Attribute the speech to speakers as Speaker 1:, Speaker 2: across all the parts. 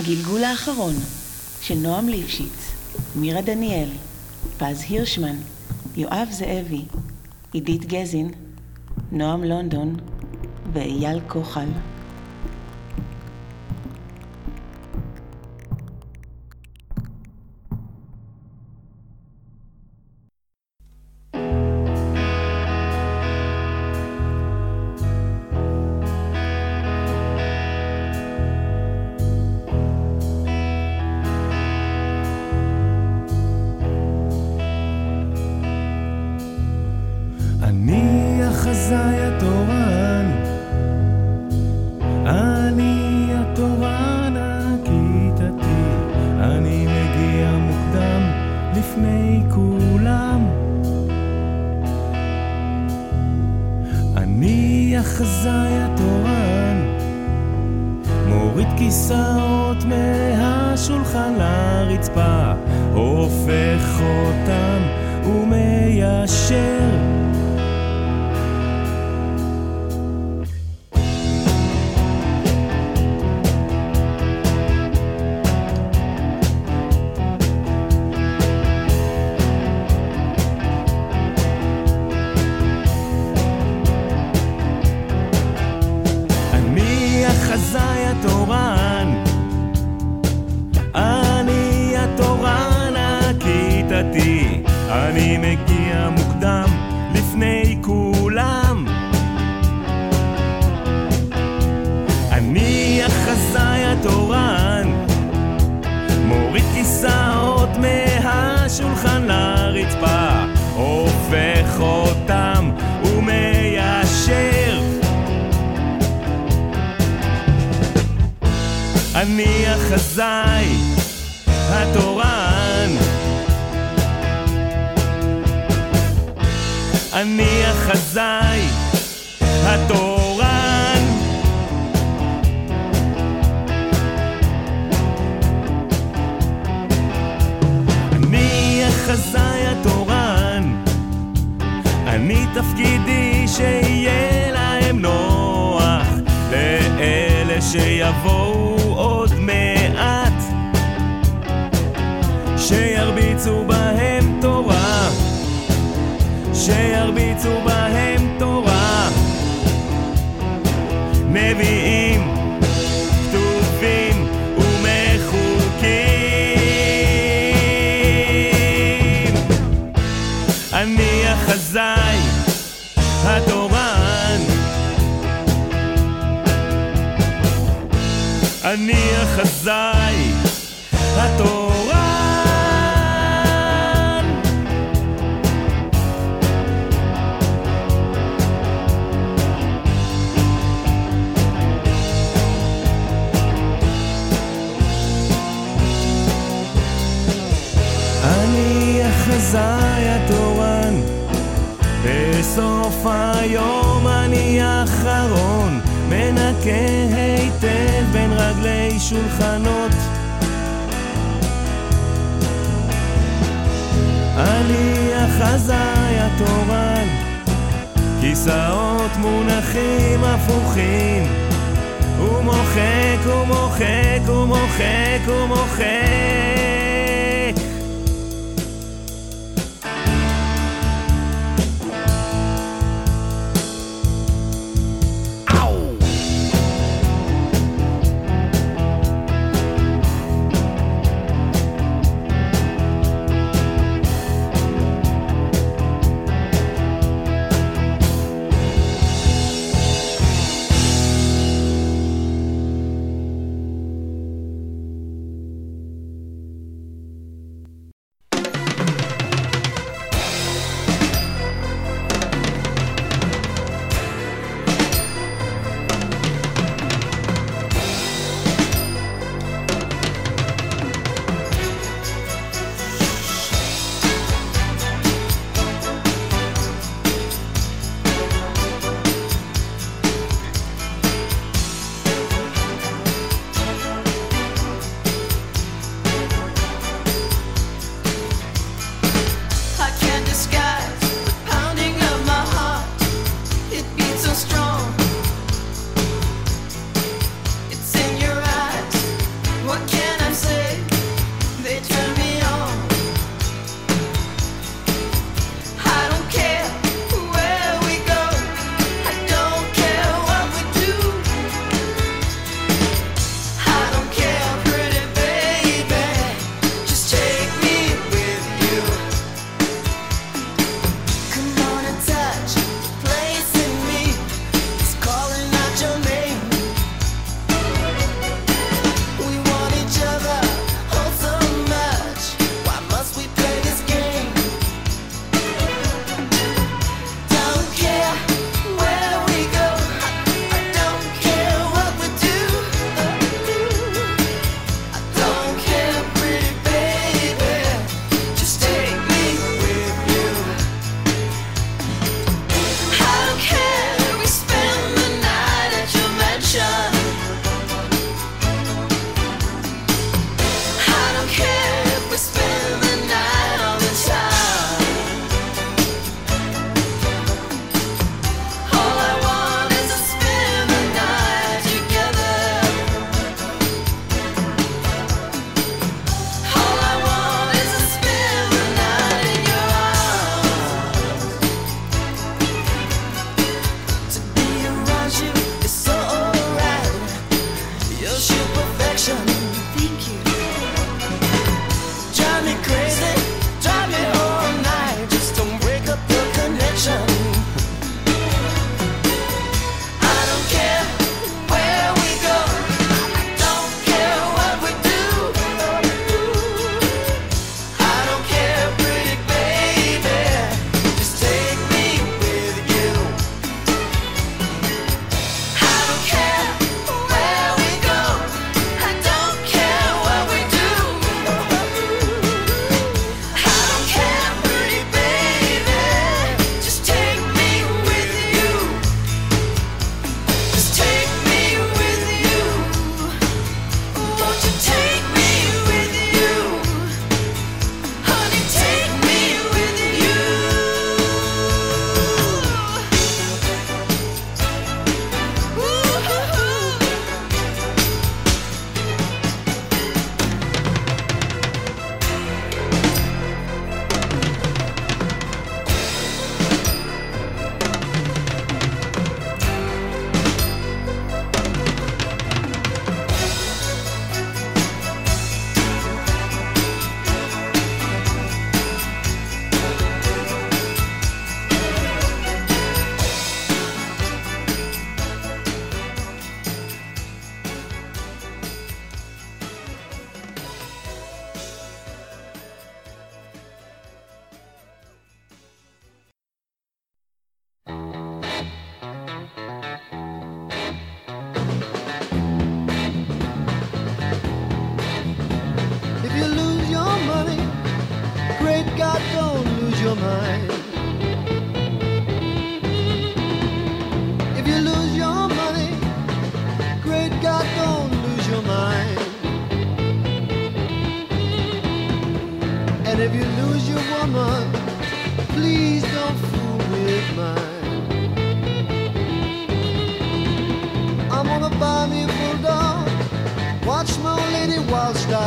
Speaker 1: הגלגול האחרון של נועם ליפשיץ, מירה דניאל, פז הירשמן, יואב זאבי, עידית גזין, נועם לונדון ואייל כוחל.
Speaker 2: אני החזאי התורן, אני החזאי התורן, אני החזאי התורן, אני תפקידי שיהיה להם נוח, לאלה שיבואו עוד מעט, שירביצו בהם תורה, שירביצו בהם תורה, נביאים כתובים ומחוקים. אני החזאי התורן, אני החזאי התורן. אני החזאי התורן, בסוף היום אני האחרון, מנקה היטב בין רגלי שולחנות. אני החזאי התורן, כיסאות מונחים הפוכים, ומוחק ומוחק ומוחק ומוחק.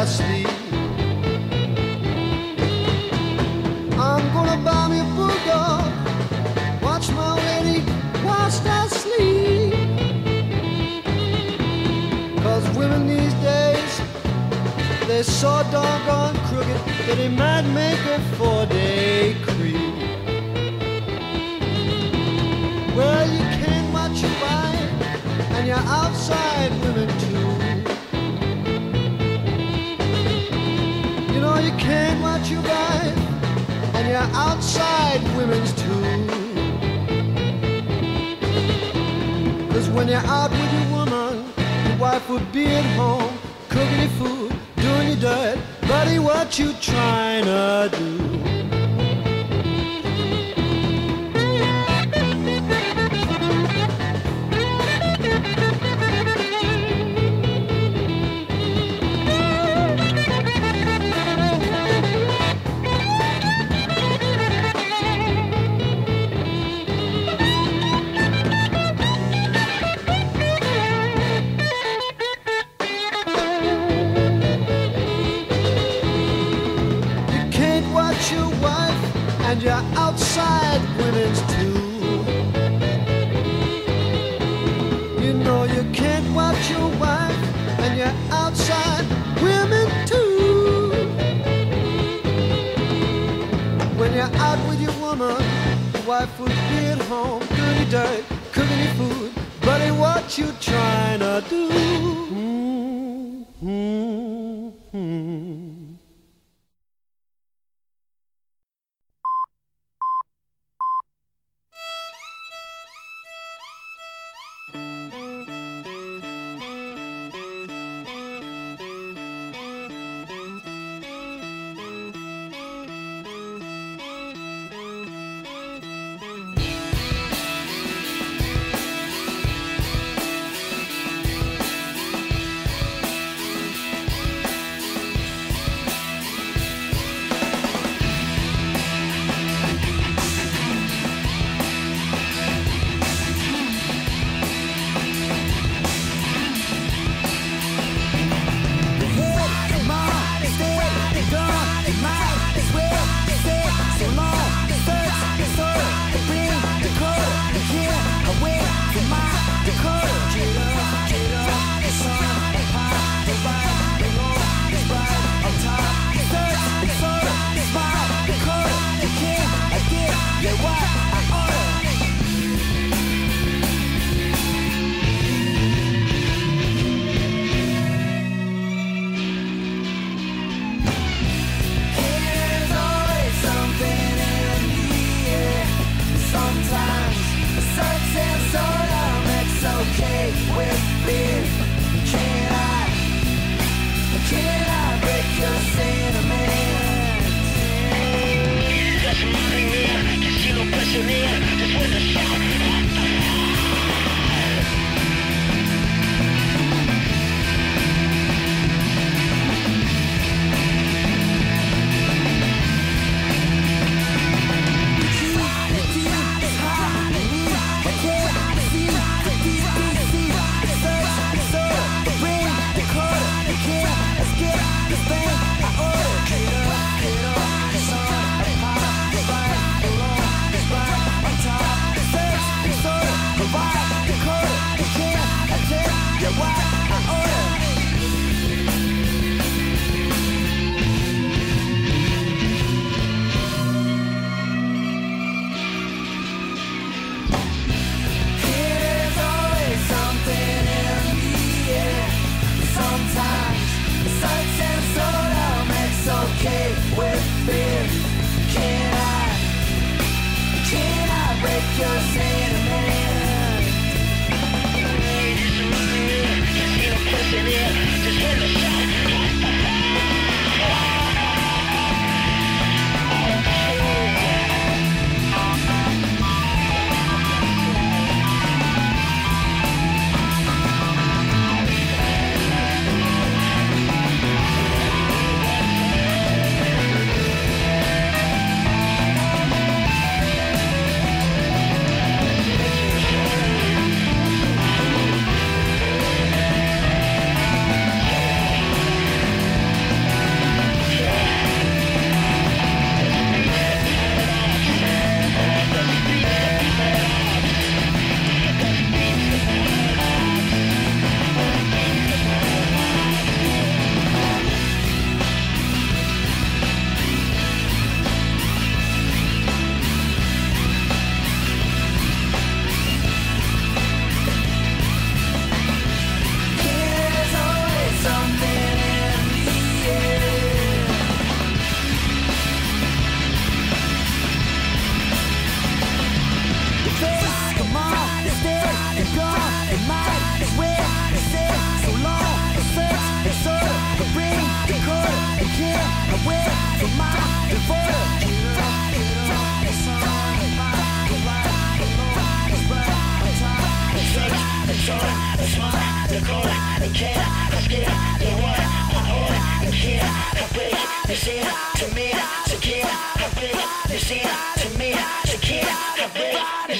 Speaker 3: sleep. I'm gonna buy me a bulldog, watch my lady whilst I sleep. 'Cause women these days, they're so doggone crooked that it might make a 4-day creep. Well, you can't watch your wife, and you're outside women too. You know you can't watch your wife, and you're outside women's too. 'Cause when you're out with your woman, your wife would be at home, cooking your food, doing your dirt. Buddy, what you trying to do? And you're outside women's too. You know you can't watch your wife, and you're outside women too. When you're out with your woman, your wife would be at home, doing your dirt, cooking your food. Buddy, what you trying to do?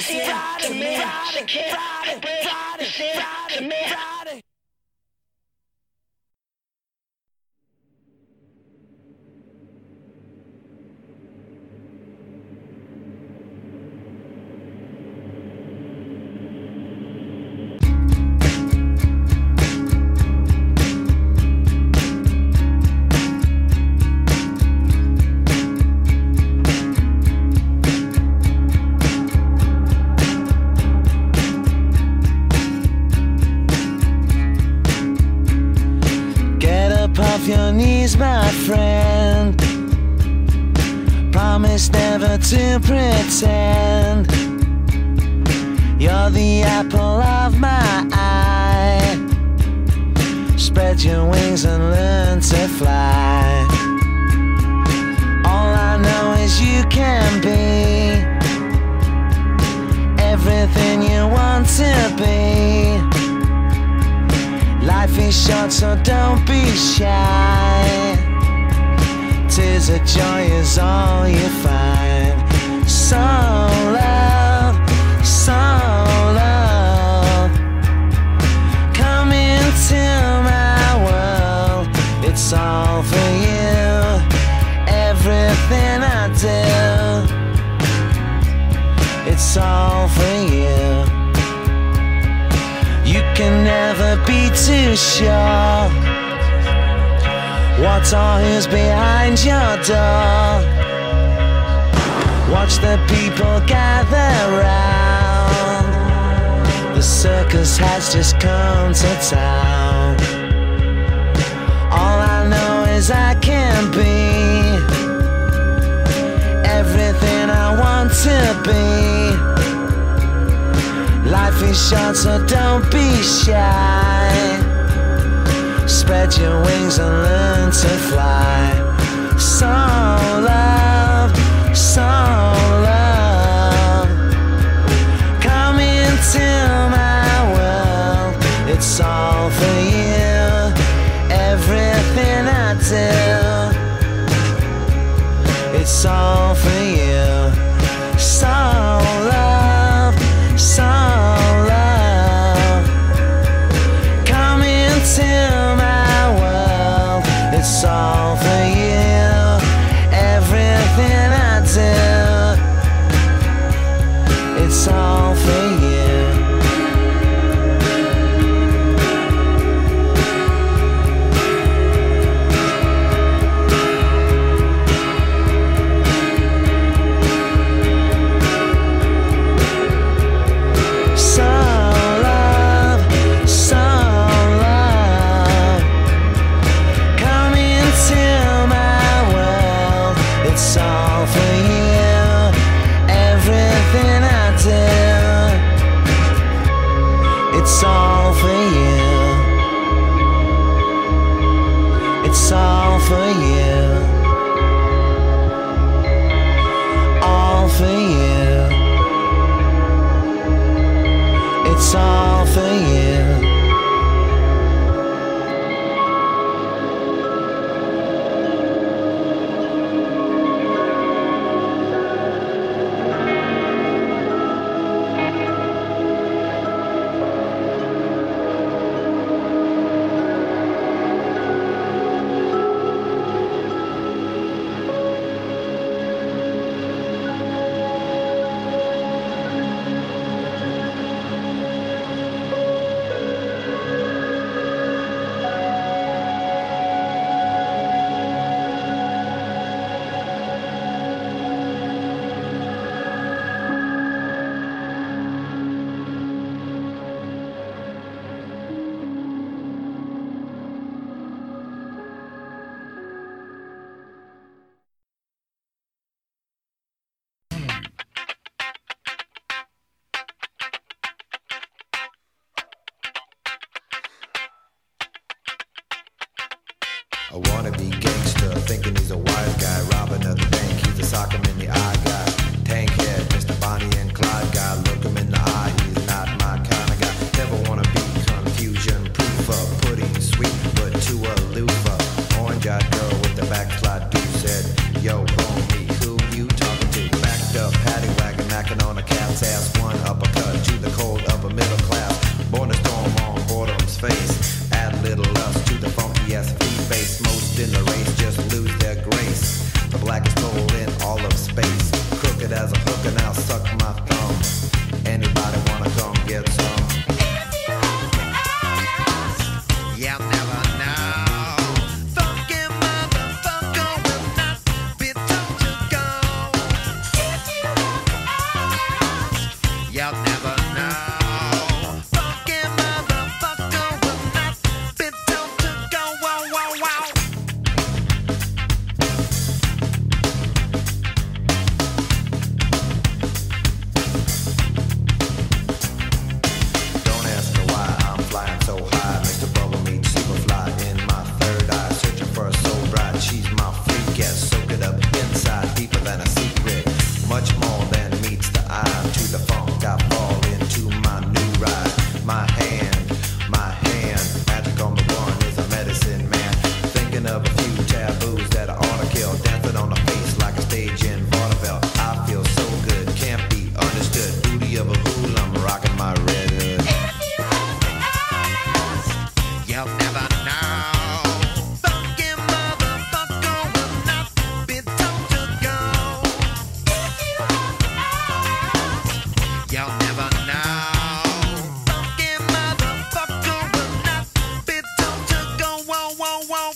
Speaker 4: Your knees, my friend. Promise never to pretend you're the apple of my eye. Spread your wings and learn to fly. All I know is you can be everything you want to be. Life is short, so don't be shy. Tears of joy is all you find. So love, come into my world. It's all for you, everything I do. It's all for you. You can never be too sure what or who's behind your door. Watch the people gather round. The circus has just come to town. All I know is I can be everything I want to be. Life is short, so don't be shy. Spread your wings and learn to fly. So love, come into my world. It's all for you, everything I do. It's all for you. So love, come into my world. It's all for you, everything I do. It's all for you. It's all for you. It's all for you. All for you. It's all for you.
Speaker 5: A wannabe gangster, thinking he's a wise guy, robbing at the bank, he's a sock him in the eye guy. Tank head, Mr. Bonnie and Clyde guy, look him in the eye, he's not my kind of guy. Never wanna be confusion proofer, pudding sweet but too aloofer. Orange-eyed girl with the backslide dude said, yo homie, who you talking to? Backed up, paddy wagon, knocking on a cat's ass, one adjust to the code of a middle class. Born to storm on boredom's face. Add little lust to the funky ass free face. Most in the race just lose their grace. The blackest hole in all of space. Crooked as a hooker, now suck my thumb. Anybody wanna come get some? You'll never know. Funky motherfucker will not be told to go. You'll never know. Funky motherfucker will not be told to go. Wow, wow, wow. Don't ask me why I'm flying so high. Mr. Bubble Meat, Superfly in my third eye. Searching for a soul bride, she's my freak. Yes, soak it up inside, deeper than a secret. Much more than meets the eye. To the funk, I fall into my new ride. My hand, magic on the one is a medicine man. Thinking of a few taboos that I ought to kill. Dancing on the face like a stage in vaudeville. I feel so good, can't be understood. Booty of a fool, I'm rocking my red hood. You'll never know. Funky motherfucker will not be told to go. You'll never know. Funky motherfucker will not be told to go. Whoa, whoa, whoa.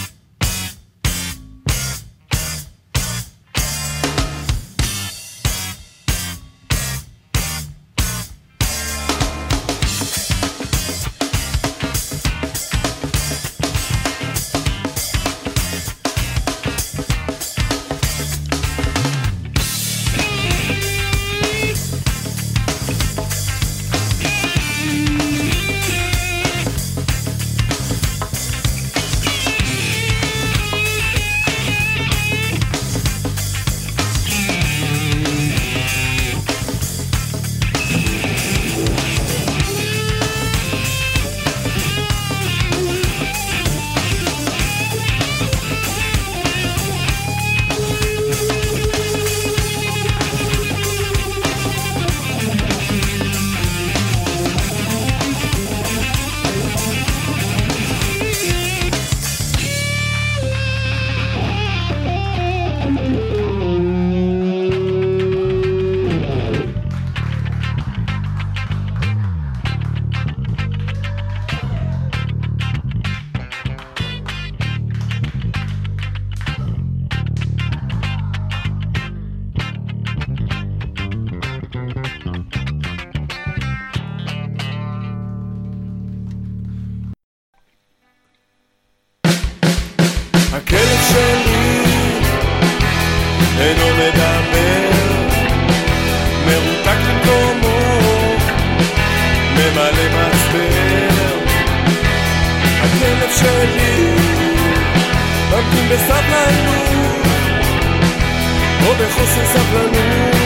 Speaker 2: הכלב שלי אינו מדבר, מרותק למקומו, ממלא מסבר. הכלב שלי ממתין בסבלנות או בחוסר סבלנות.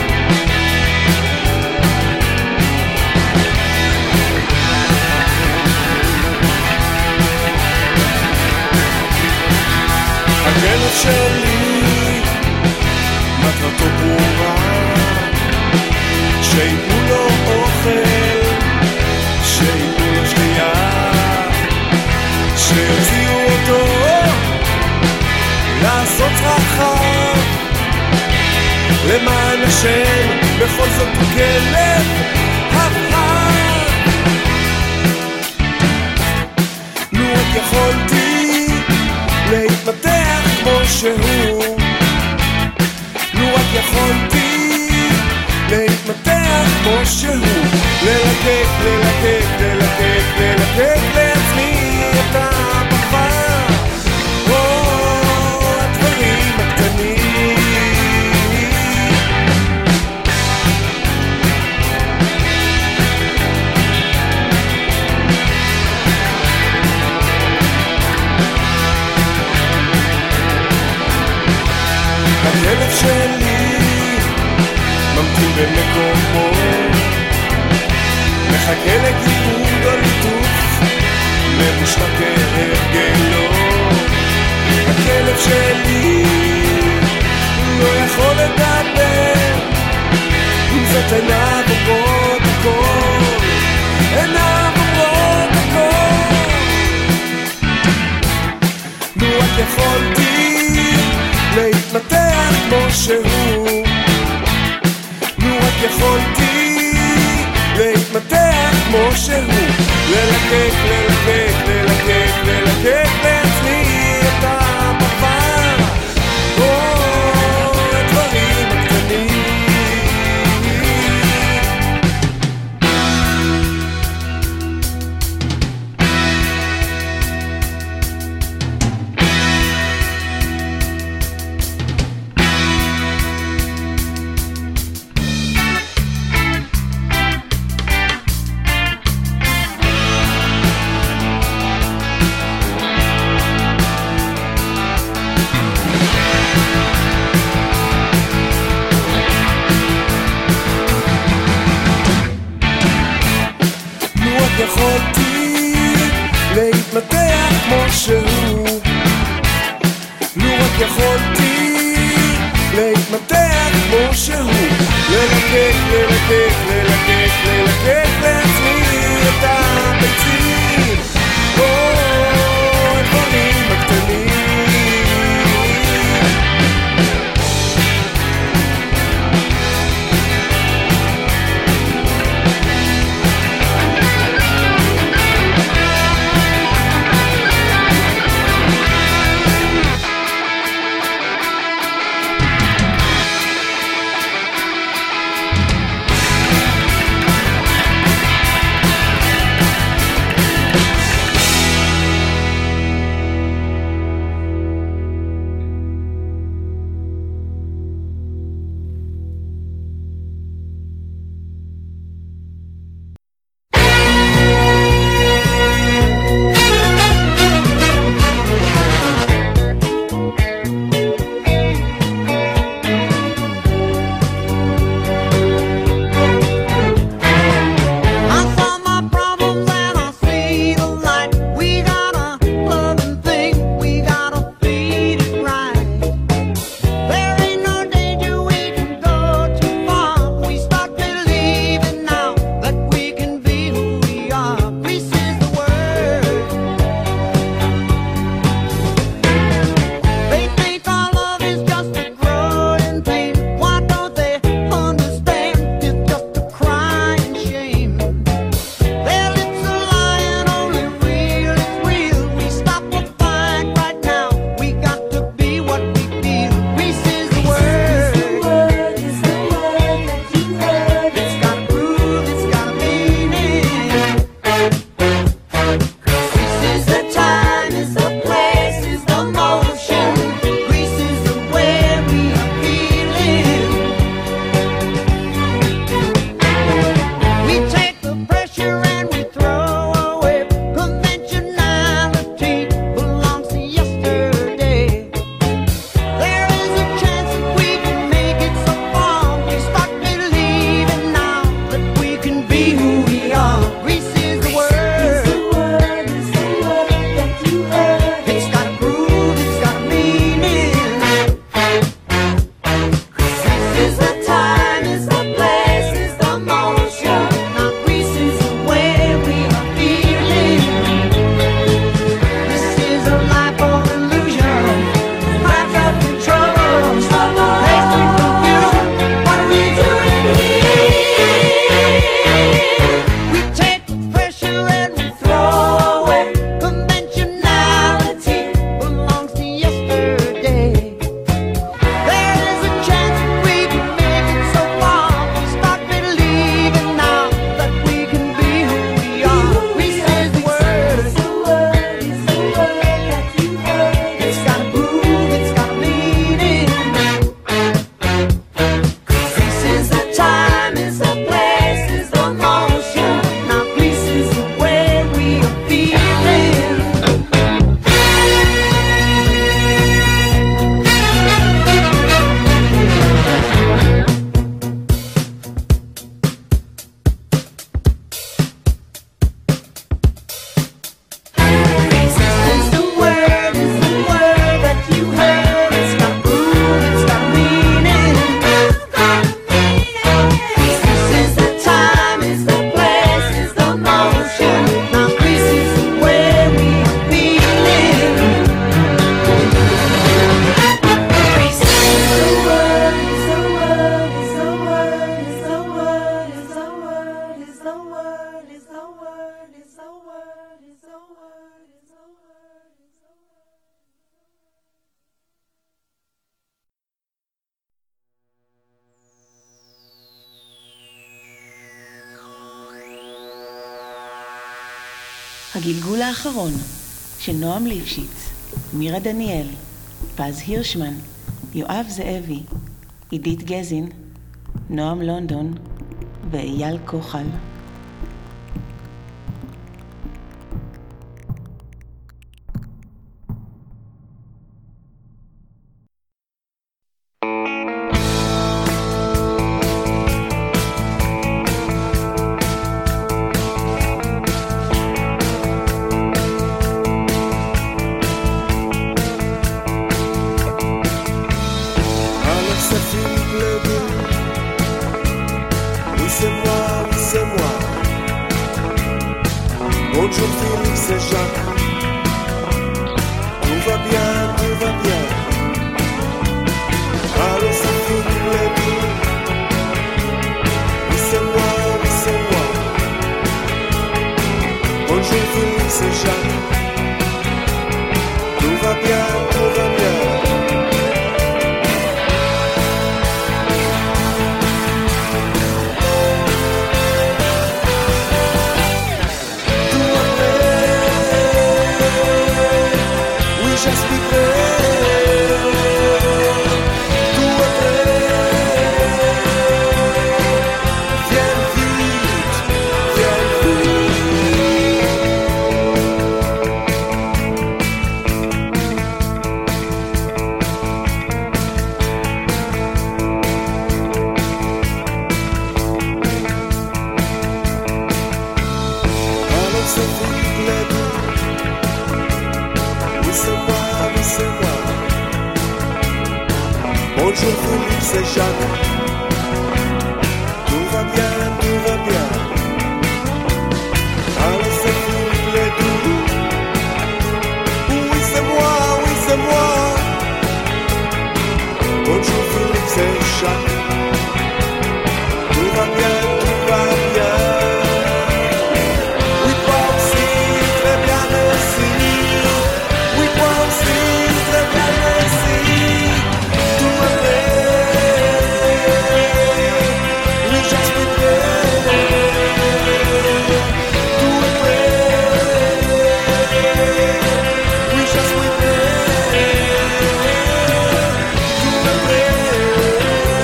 Speaker 2: הכלב שלי מטרתו ברורה, שיתנו לו אוכל, שיתנו לו שתייה, שיוציאו אותו לעשות צרכיו למען השם. בכל זאת הוא כלב הפרט. לו רק יכולתי להתמתח כמו שהוא, לו רק יכולתי להתמתח כמו שהוא, ללקק, ללקק, ללקק, ללקק לעצמי את הפרווה, הדברים הקטנים. הכלב שלי ממתין במקומו, מחכה לגיבוד או ליטוף, ממושתק כהרגלו. הכלב שלי לא יכול לדבר, אם זאת עיניו עוברות כמו שהוא, ללקק, ללקק, ללקק, ללקק לעצמי את המפה, הדברים הקטנים. יכולתי להתמתח כמו שהוא, לו רק יכולתי להתמתח כמו שהוא, ללקק, ללקק, ללקק, ללקק לעצמי את הביצים, הדברים הקטנים.
Speaker 1: הגלגול האחרון של נועם ליפשיץ, מירה דניאל, פז הירשמן, יואב זאבי, עידית גזין, נועם לונדון ואייל כוחל.
Speaker 2: Bonjour Félix et Jacques. Tout va bien, tout va bien. Allons, ça finit les deux. Oui, c'est moi, oui, c'est moi. Bonjour Félix et Jacques. Tout va bien, tout va bien. Je suis prêt, tout est prêt. Viens vite, viens Alors c'est vite les deux. Oui c'est moi, oui c'est moi. Bonjour Félix et Jacques. Tout va bien, tout va bien. Alors c'est vite les deux. Oui c'est moi, oui c'est moi. Bonjour Félix et Jacques. Tout va bien, tout va bien. Oui toi aussi, très bien merci. Oui, toi aussi, très bien, merci. Tout est prêt. Oui, je suis prêt. Tout est prêt. Oui, je suis prêt. Tout est prêt.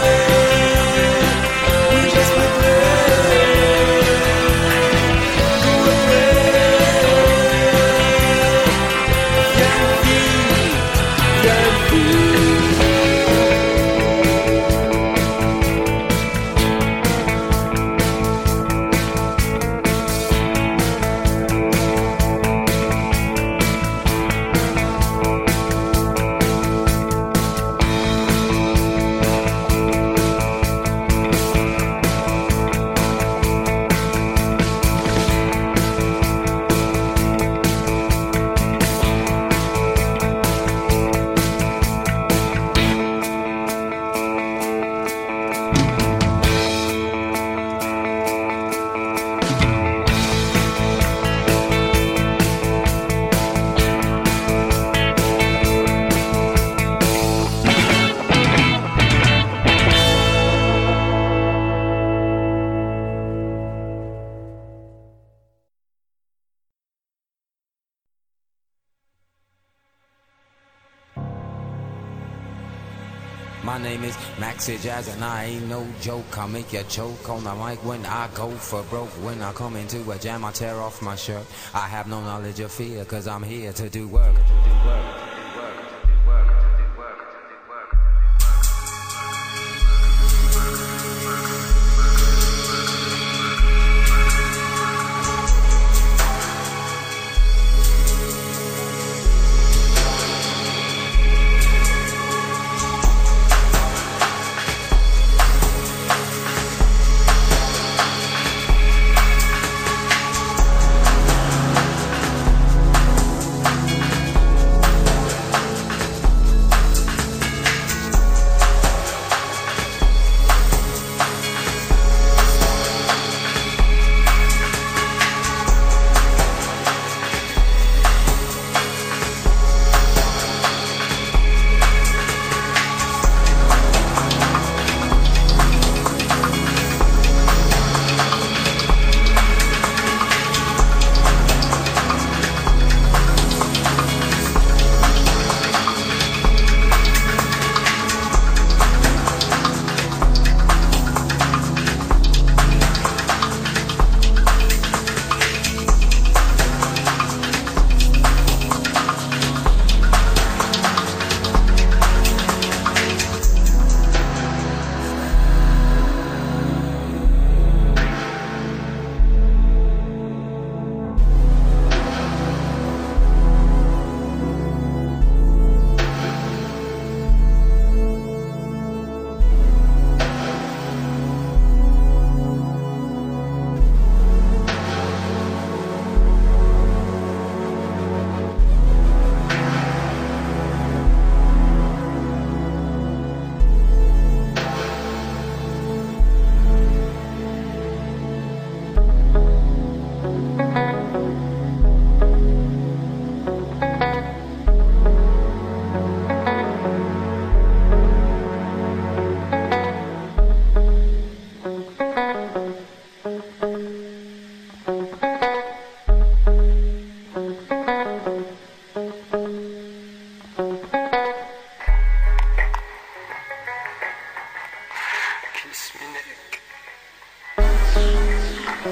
Speaker 2: Oui, je suis prêt. Tout est prêt.
Speaker 6: My name is Maxi Jazz and I ain't no joke. I make you choke on the mic when I go for broke. When I come into a jam, I tear off my shirt. I have no knowledge of fear, cause I'm here to do work.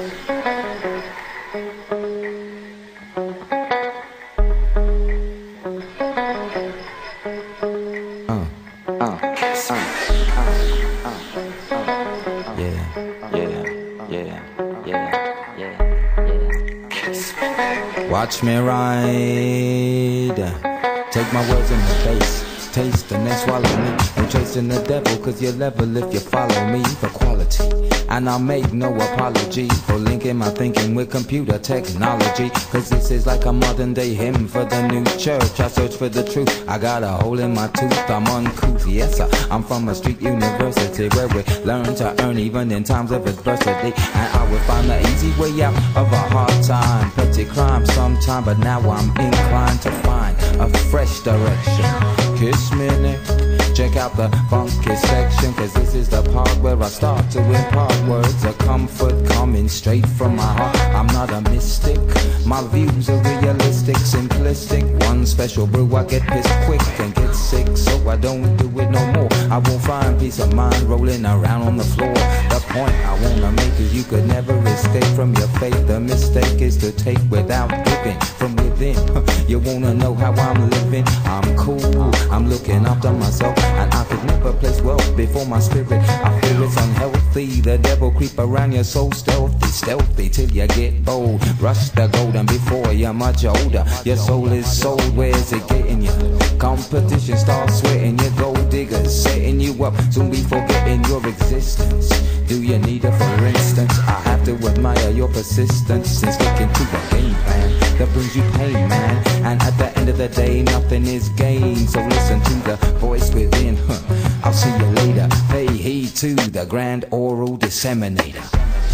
Speaker 6: Watch me ride. Take my words in the face, taste and then swallow me. No chasing the devil, cause you're level if you follow me for quality. And I'll make no apology for linking my thinking with computer technology. Cause this is like a modern day hymn for the new church. I search for the truth, I got a hole in my tooth, I'm uncouth. Yes sir, I'm from a street university where we learn to earn even in times of adversity. And I will find the easy way out of a hard time. Petty crime sometime, but now I'm inclined to find a fresh direction. Kiss me next. Check out the funky section, cause this is the part where I start to impart words of comfort coming straight from my heart. I'm not a mystic, my views are realistic, simplistic. One special brew, I get pissed quick and get sick, so I don't do it no more. I won't find peace of mind rolling around on the floor. The point I wanna make is you could never escape from your fate. The mistake is to take without giving from within. You wanna know how I'm living? I'm cool, I'm looking after myself, and I could never place wealth before my spirit. I feel it's unhealthy. The devil creep around you so stealthy, stealthy till you get bold. Rush the golden before you're much older. Your soul is sold, where's it getting you? Competition starts sweating, your gold diggers setting you up, soon be forgetting your existence. Do you need it for instance? I have to admire your persistence in sticking to a game plan that brings you pain, man. And at the end of the day, nothing is gained. So listen to the voice within. I'll see you later. Pay heed to the grand oral disseminator.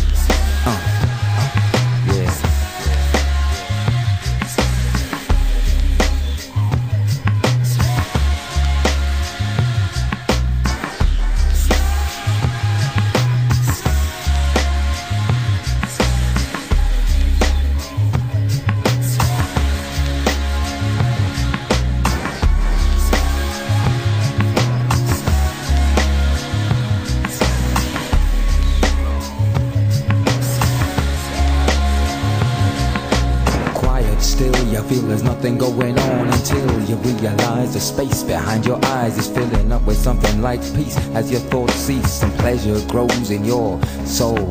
Speaker 6: Yeah. Feel there's nothing going on until you realize the space behind your eyes is filling up with something like peace. As your thoughts cease and pleasure grows in your soul.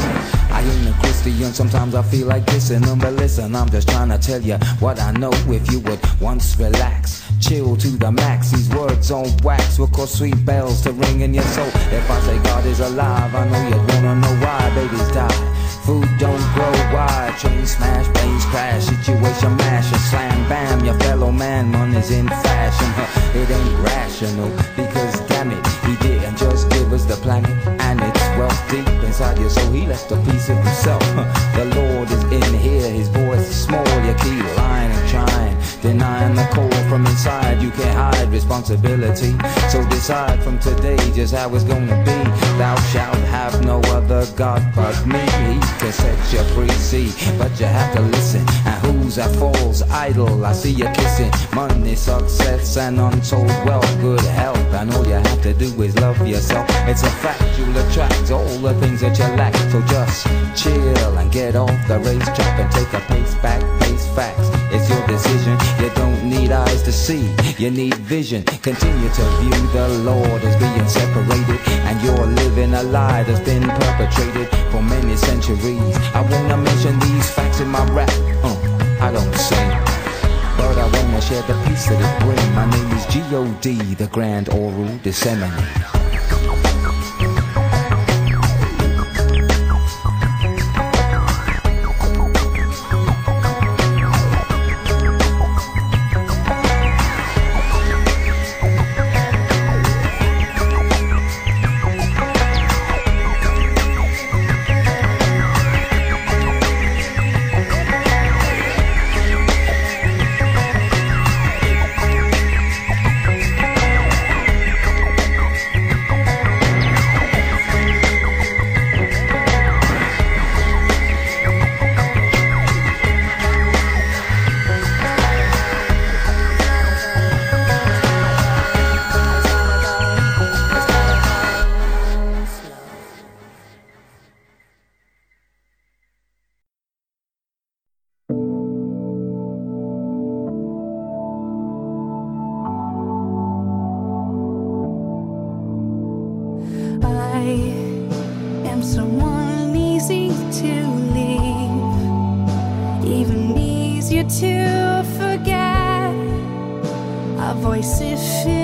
Speaker 6: I ain't a Christian, sometimes I feel like dissing them, but listen, I'm just trying to tell you what I know. If you would once relax, chill to the max, these words on wax will cause sweet bells to ring in your soul. If I say God is alive, I know you'd wanna know why babies die. Food don't grow wide, train smash, planes crash, situation mash, and slam bam, your fellow man, money's in fashion. It ain't rational, because damn it, he didn't just give us the planet, and it's wealth deep inside you, so he left a piece of himself. The Lord is in here, his voice is small, you keep lying and trying, denying the call from inside. You can't hide responsibility, so decide from today just how it's gonna be. Thou shalt have no other God but me. He can set you free, see, but you have to listen. And who's a false idol? I see you kissing money, success, and untold wealth, good health, and all you have to do is love yourself. It's a fact, you'll attract all the things that you lack. So just chill and get off the racetrack and take a pace back, face facts. It's your decision. You don't need eyes to see, you need vision. Continue to view the Lord as being separated, and you're living a lie that's been perpetrated for many centuries. I wanna mention these facts in my rap. I don't sing, but I wanna share the peace that it brings. My name is G.O.D., the Grand Oral Disseminator.
Speaker 7: to leave, even easier to forget. A voice if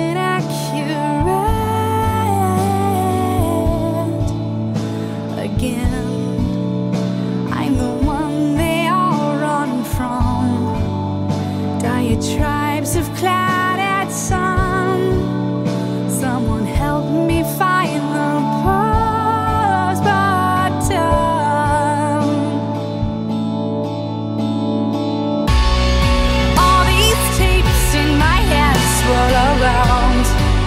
Speaker 7: inaccurate. Again, I'm the one they all run from. Diatribes of clouded sun. Someone help me find the pause button. All these tapes in my head swirl around,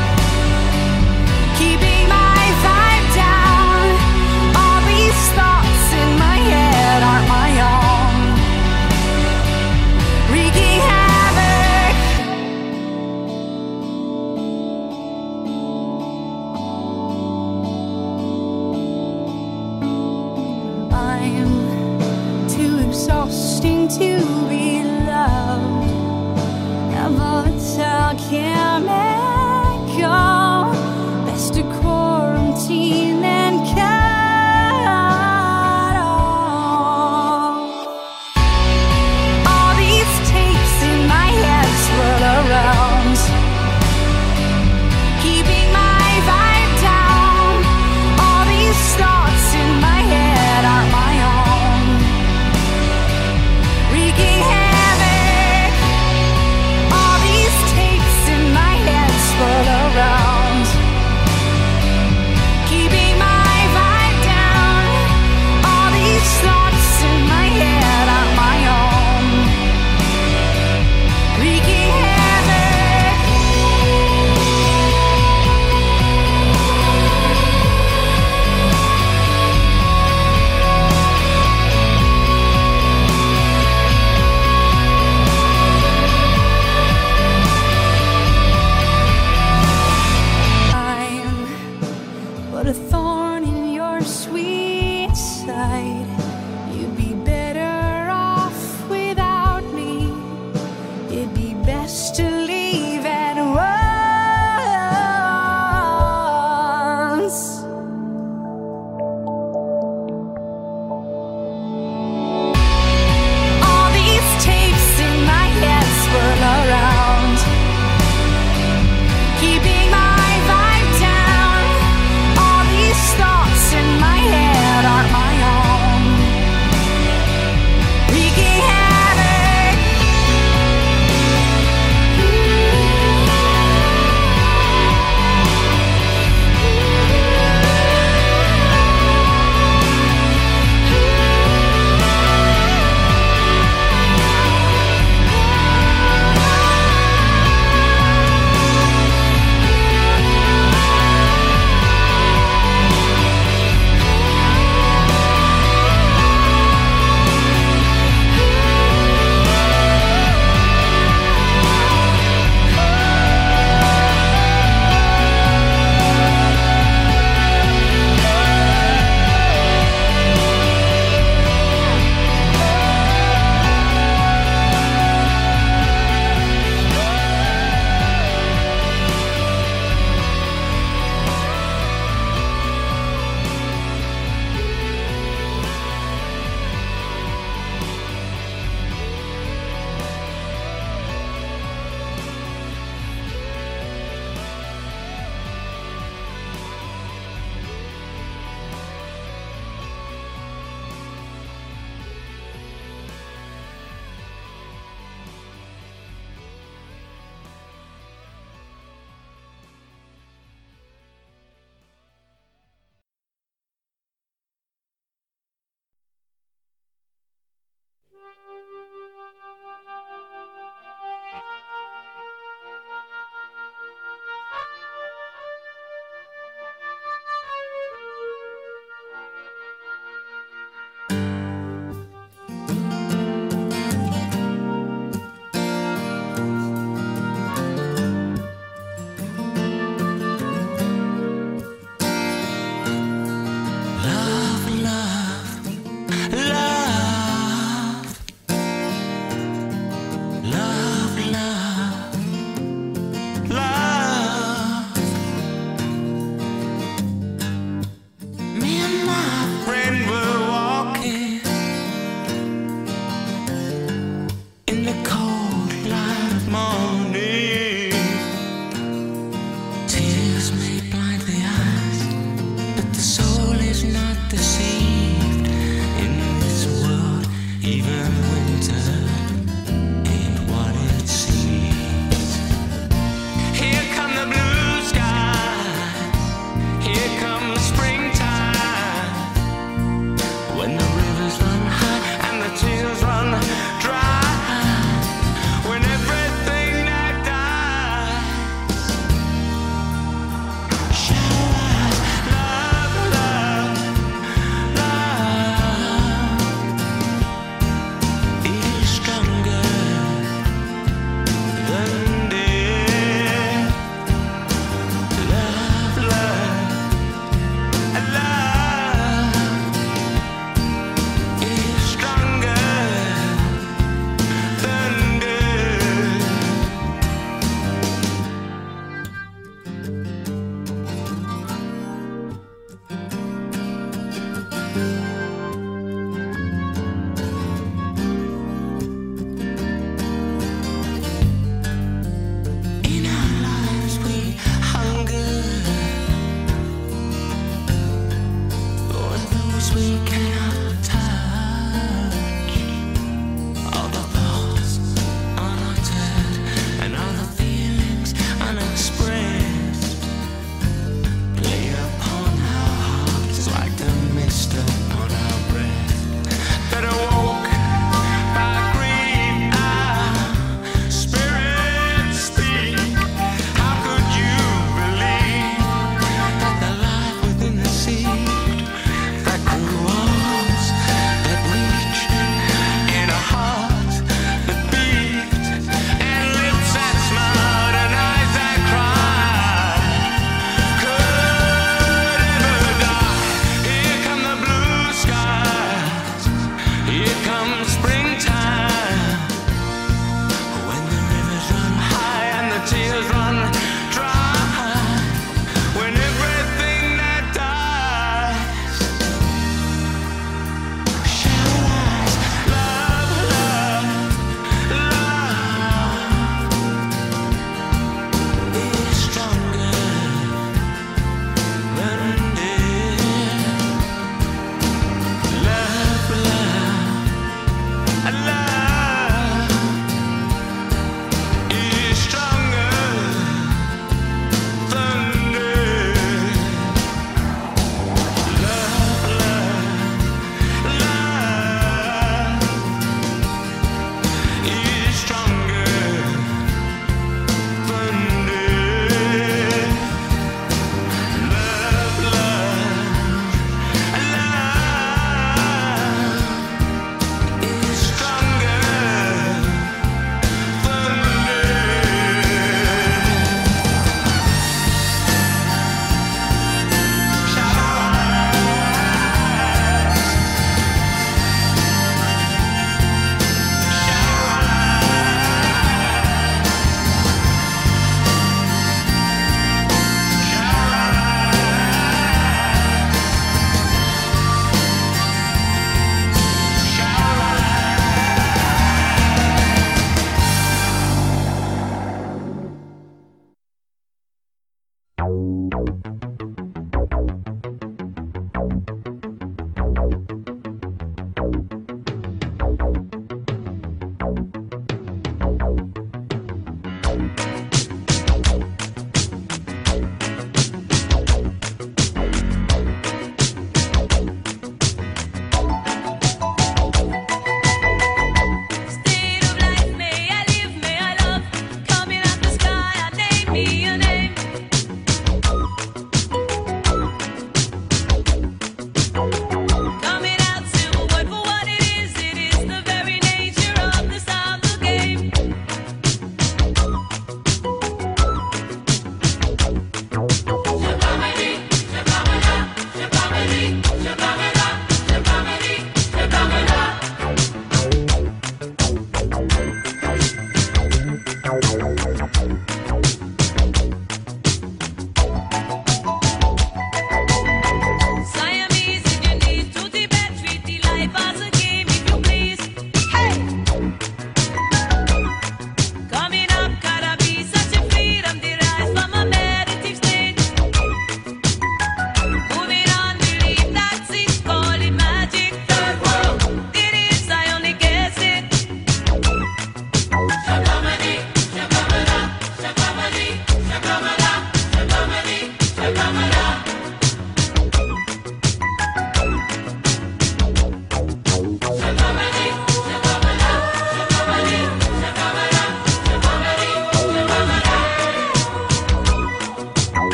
Speaker 7: keeping my vibe down. All these thoughts in my head aren't my own, wreaking havoc. I'm too exhausting to be loved. Never tell chemical. Best to quarantine and cut off. All these tapes in my head swirl around, keeping my vibe down. All these thoughts in my head aren't my own, wreaking havoc. All these tapes in my head swirl around, keeping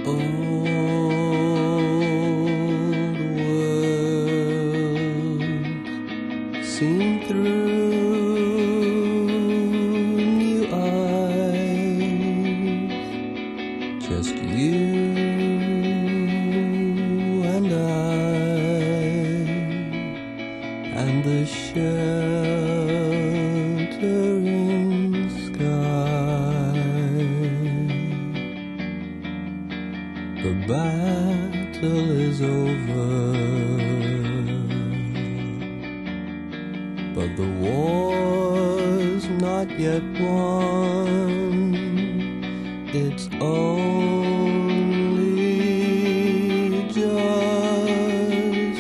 Speaker 3: Seen through new eyes, just you and I, and the sheltering sky. The battle is over, but the war's not yet won. It's only just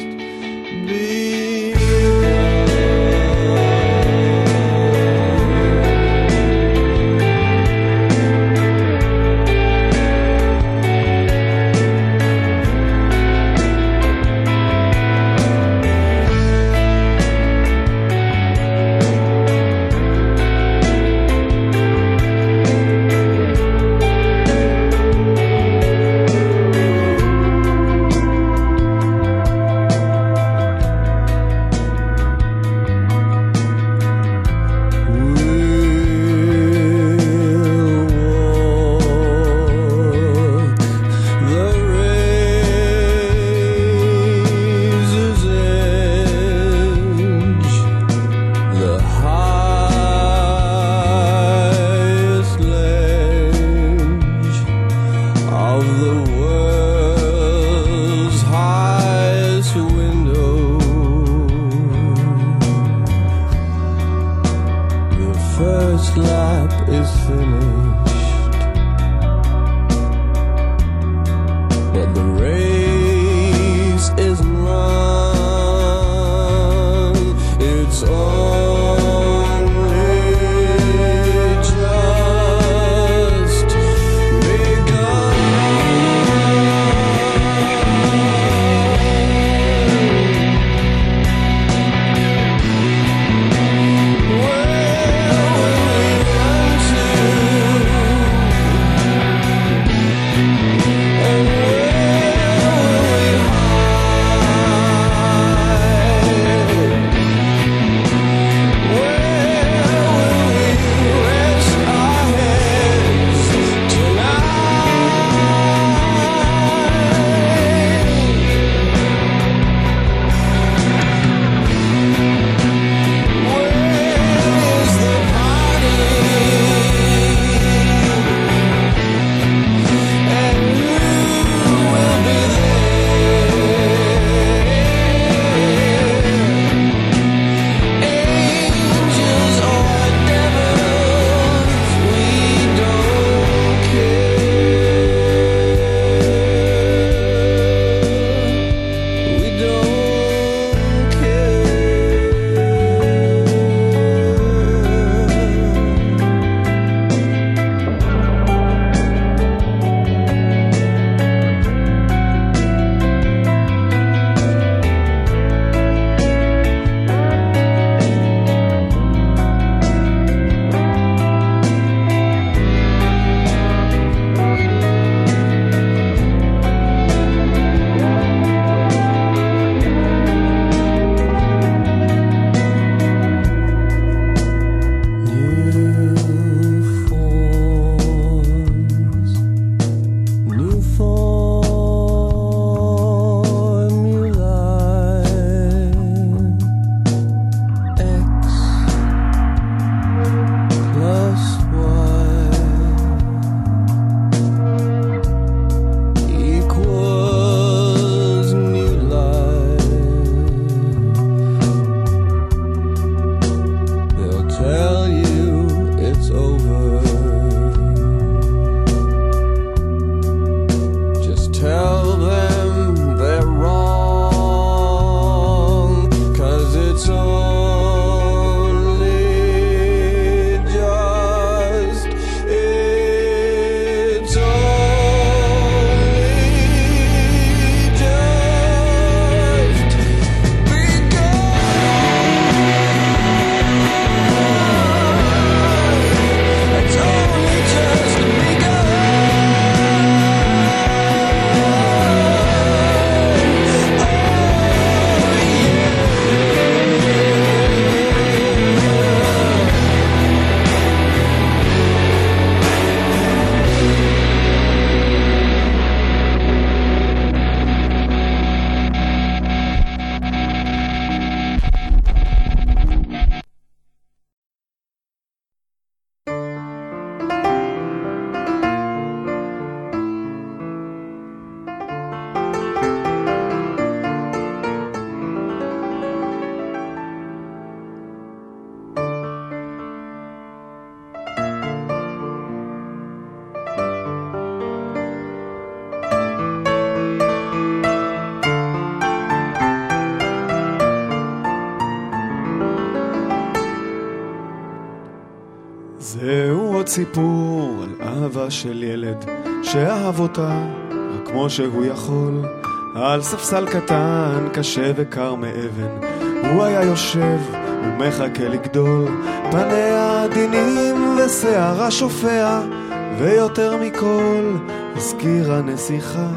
Speaker 8: סיפור על אהבה של ילד שאהב אותה רק כמו שהוא יכול. על ספסל קטן קשה וקר מאבן הוא היה יושב ומחכה לגדול. פניה עדינים ושערה שופע, ויותר מכל הזכירה נסיכה.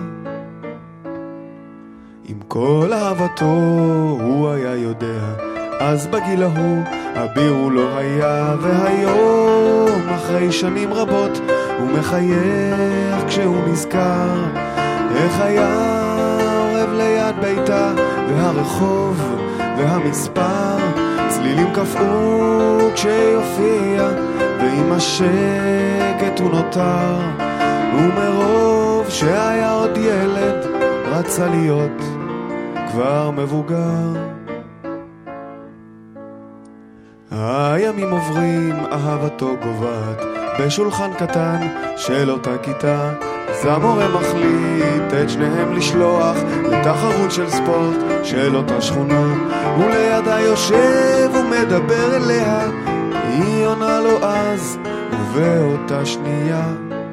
Speaker 8: עם כל אהבתו הוא היה יודע, אז בגיל ההוא אביר הוא לא היה. והיום אחרי שנים רבות הוא מחייך כשהוא נזכר איך היה עורב ליד ביתה, והרחוב והמספר צלילים קפאו כשיופיע, ועם השקט הוא נותר, ומרוב שהיה עוד ילד רצה להיות כבר מבוגר. הימים עוברים, אהבתו גובעת בשולחן קטן של אותה כיתה. אז המורה מחליט את שניהם לשלוח לתחרות של ספורט של אותה שכונה, ולידה יושב ומדבר אליה, היא עונה לו אז ובאותה שנייה.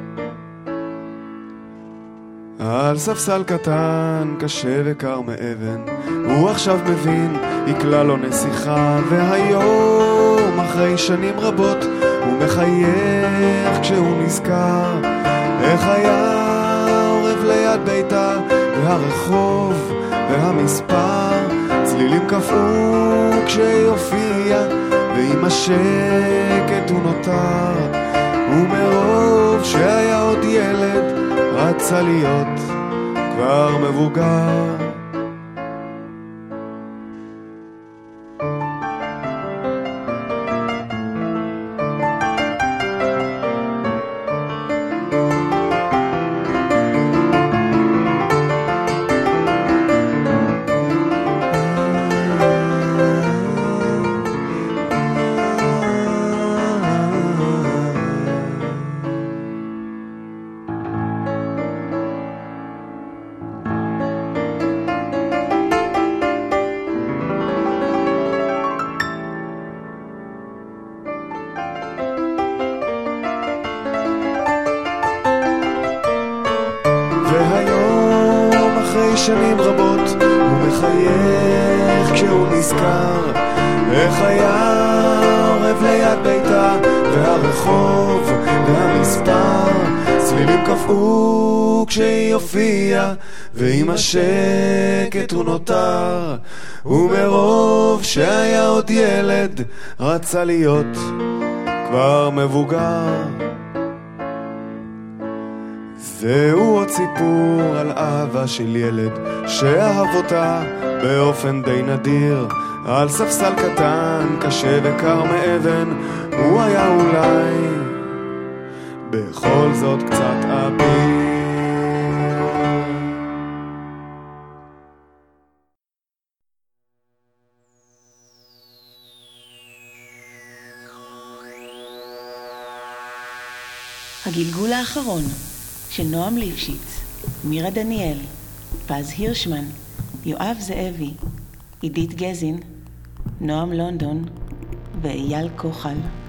Speaker 8: על ספסל קטן קשה וקר מאבן הוא עכשיו מבין היא כלל לא נסיכה. והיום אחרי שנים רבות הוא מחייך כשהוא נזכר איך היה עורב ליד ביתה, והרחוב והמספר צלילים קפאו כשיופיע, ועם השקט הוא נותר, ומרוב שהיה עוד ילד רצה להיות כבר מבוגר. והיום אחרי שנים רבות הוא מחייך כשהוא נזכר איך היה עורב ליד ביתה, והרחוב והמספר צלילים קפאו כשהיא הופיעה, ועם השקט הוא נותר, ומרוב שהיה עוד ילד רצה להיות כבר מבוגר. זהו עוד סיפור על אהבה של ילד שאהב אותה באופן די נדיר. על ספסל קטן קשה וקר מאבן הוא היה אולי בכל זאת קצת אביר.
Speaker 1: הגלגול האחרון של נועם ליפשיץ, מירה דניאל, פז הירשמן, יואב זאבי, עידית גזין, נועם לונדון ואייל כוחל.